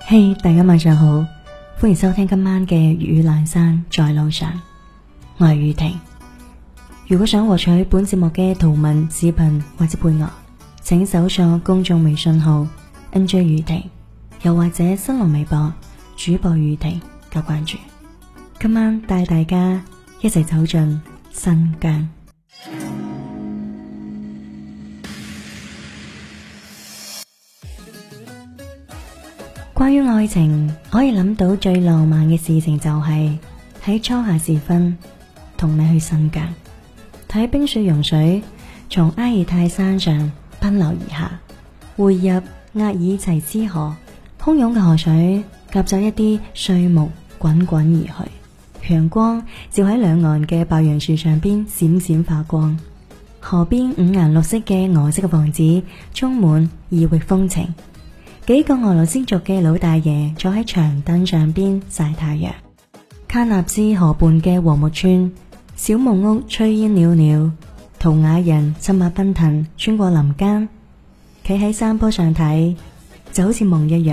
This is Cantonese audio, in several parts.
嘿，大家晚上好，歡迎收聽今晚嘅粵語闌珊在路上，我係宇婷。如果想獲取本節目嘅圖文視頻或者配樂，請搜索公眾微信號 NJ 宇婷，又或者新浪微博主播宇婷加關注。今晚帶大家一齊走進新疆。關於愛情，可以諗到最浪漫嘅事情就係喺初夏時分同你去新疆，睇冰雪融水從阿爾泰山上奔流而下，匯入額爾齊斯河，洶湧嘅河水夾雜一啲碎木滾滾而去，陽光照喺兩岸嘅白楊樹上邊閃閃發光，河邊五顏六色嘅俄式嘅房子充滿異域風情。幾個俄羅斯族嘅老大爺坐喺長凳上邊曬太陽，喀納斯河畔嘅禾木村，小木屋炊煙裊裊，圖瓦人策馬奔騰穿過林間，企喺山坡上睇就好似夢一樣。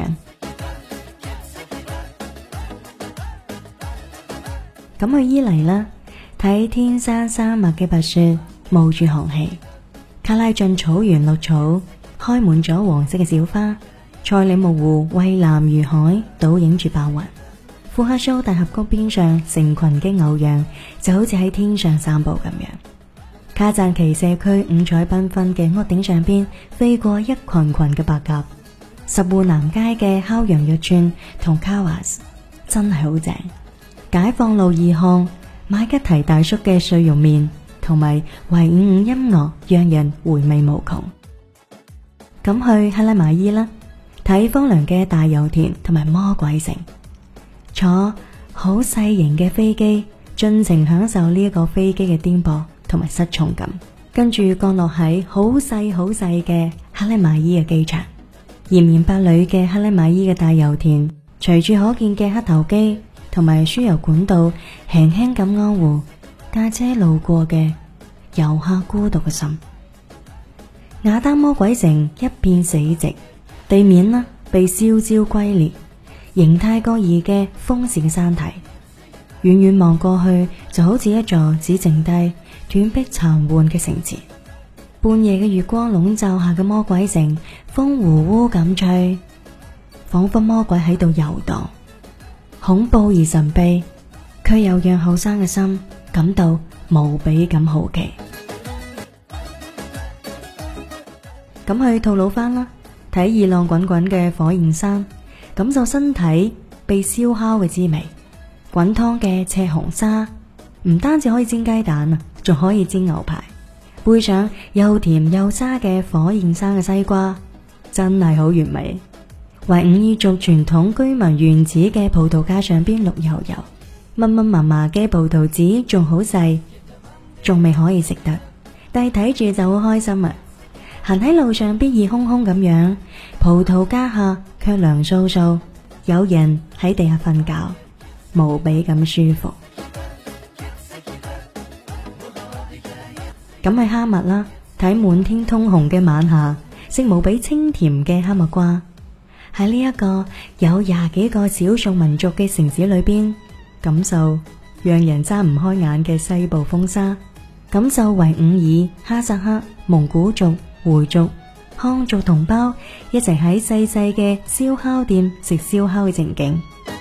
咁去伊犁啦，睇天山山脈嘅白雪冒住寒氣，喀拉峻草原綠草開滿咗黃色嘅小花，賽里木湖蔚藍如海，倒映住白雲。庫克蘇大峽谷邊上成群嘅牛羊就好似喺天上散步咁樣。卡贊奇社區五彩繽紛嘅屋頂上邊飛過一群群嘅白鴿。十戶南街嘅烤羊肉串同卡瓦斯真係好正。解放路二巷馬吉提大叔嘅碎肉麵同埋維吾爾音樂讓人回味無窮。咁去克拉瑪依啦，睇荒涼嘅大油田同埋魔鬼城，坐好細型嘅飛機，盡情享受呢一個飛機嘅顛簸同埋失重感，跟住降落喺好細嘅克拉瑪依嘅機場。炎炎白裏嘅克拉瑪依嘅大油田，隨住可見嘅黑頭機同埋輸油管道，輕輕咁安撫駕車路過嘅遊客孤獨嘅心。雅丹魔鬼城一片死寂，地面啦被燒焦龜裂，形態各異嘅豐氏嘅山體，遠遠望過去就好似一座只剩低斷壁殘垣嘅城池。半夜嘅月光籠罩下嘅魔鬼城，風呼呼咁吹，仿佛魔鬼喺度遊蕩，恐怖而神秘，卻又讓後生嘅心感到無比咁好奇。咁去吐魯番啦，睇熱浪滾滾嘅火焰山，感受身體被燒烤嘅滋味。滾燙嘅赤紅沙唔單止可以煎雞蛋啊，仲可以煎牛排，配上又甜又沙嘅火焰山嘅西瓜，真係好完美。維吾爾族傳統居民原始嘅葡萄架上邊綠油油，密密麻麻嘅葡萄籽仲好細，仲未可以食得，但係睇住就好開心啊！行喺路上邊熱烘烘咁樣，葡萄架下卻涼颼颼，有人喺地下瞓覺，無比咁舒服。咁去哈密啦，睇滿天通紅嘅晚霞，食無比清甜嘅哈密瓜。喺呢一個有20幾個少數民族嘅城市裏邊，感受讓人睜唔開眼嘅西部風沙，感受維吾爾、哈薩克、蒙古族、回族、漢族同胞一齊喺細細嘅燒烤店食燒烤嘅情景。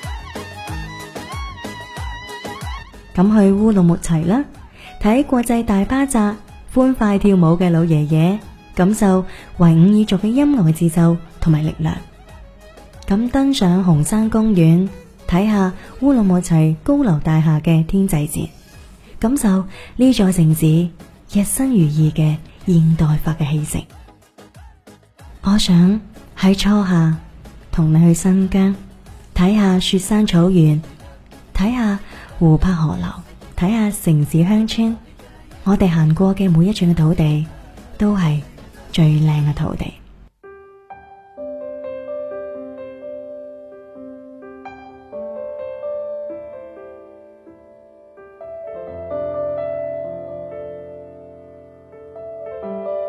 咁去烏魯木齊啦，睇國際大巴扎歡快跳舞嘅老爺爺，感受維吾爾族嘅音樂嘅節奏同埋力量。咁登上紅山公園，睇下烏魯木齊高樓大廈嘅天際線，感受呢座城市日新月異嘅現代化嘅氣息。我想喺初夏同你去新疆，睇下雪山草原，睇下湖泊河流，睇下城市鄉村。我哋行過嘅每一寸嘅土地，都係最靚嘅土地。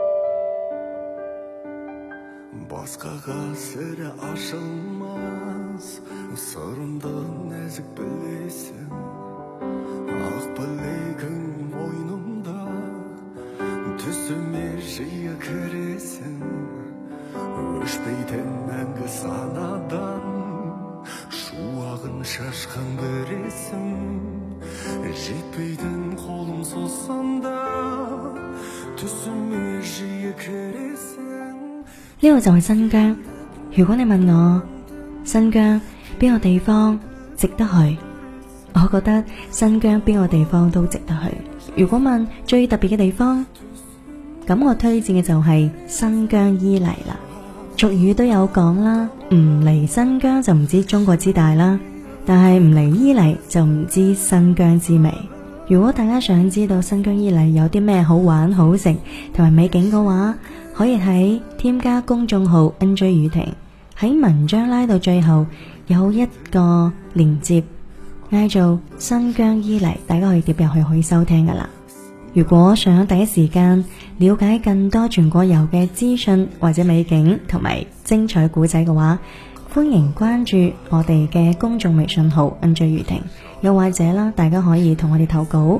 Boz qog'ozida oshiqman Сырымды нәзік білесің, ақ білегің мойнымда, түсіме жиі кіресің, өшпейтін мәңгі санадан, шуағын шашқан біресің, жетпейтін қолым созсам да, түсіме жиі кіресің。 呢個就係新疆。如果你問我新疆邊個地方值得去，我覺得新疆邊個地方都值得去。如果問最特別嘅地方，咁我推薦嘅就係新疆伊犁啦。俗語都有講啦，唔嚟新疆就唔知中國之大啦，但係唔嚟伊犁就唔知新疆之美。如果大家想知道新疆伊犁有啲咩好玩好食同埋美景嘅話，可以喺添加公眾號 NJ 宇婷，喺文章拉到最後有一個連接嗌做新疆伊犁，大家可以點入去可以收聽噶啦。如果想第一時間了解更多全國遊嘅資訊或者美景同埋精彩古仔嘅話，歡迎關注我哋嘅公眾微信號 NJ 宇婷，又或者啦，大家可以同我哋投稿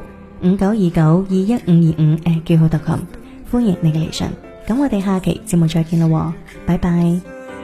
59292155@qq.com，歡迎你嘅嚟信。咁我哋下期節目再見咯，拜拜。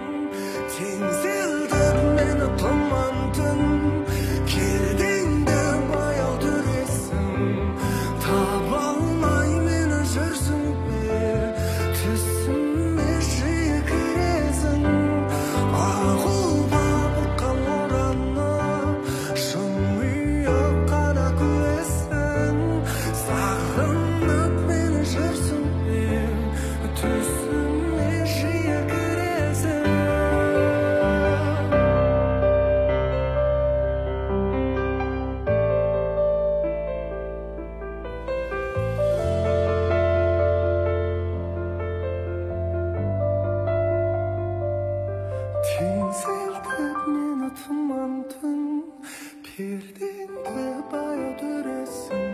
Теңселтіп мені тұман түн, пердеңді баяу түресің,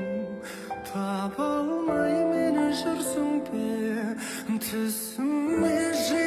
таба алмай мені жүрсің бе, түсіме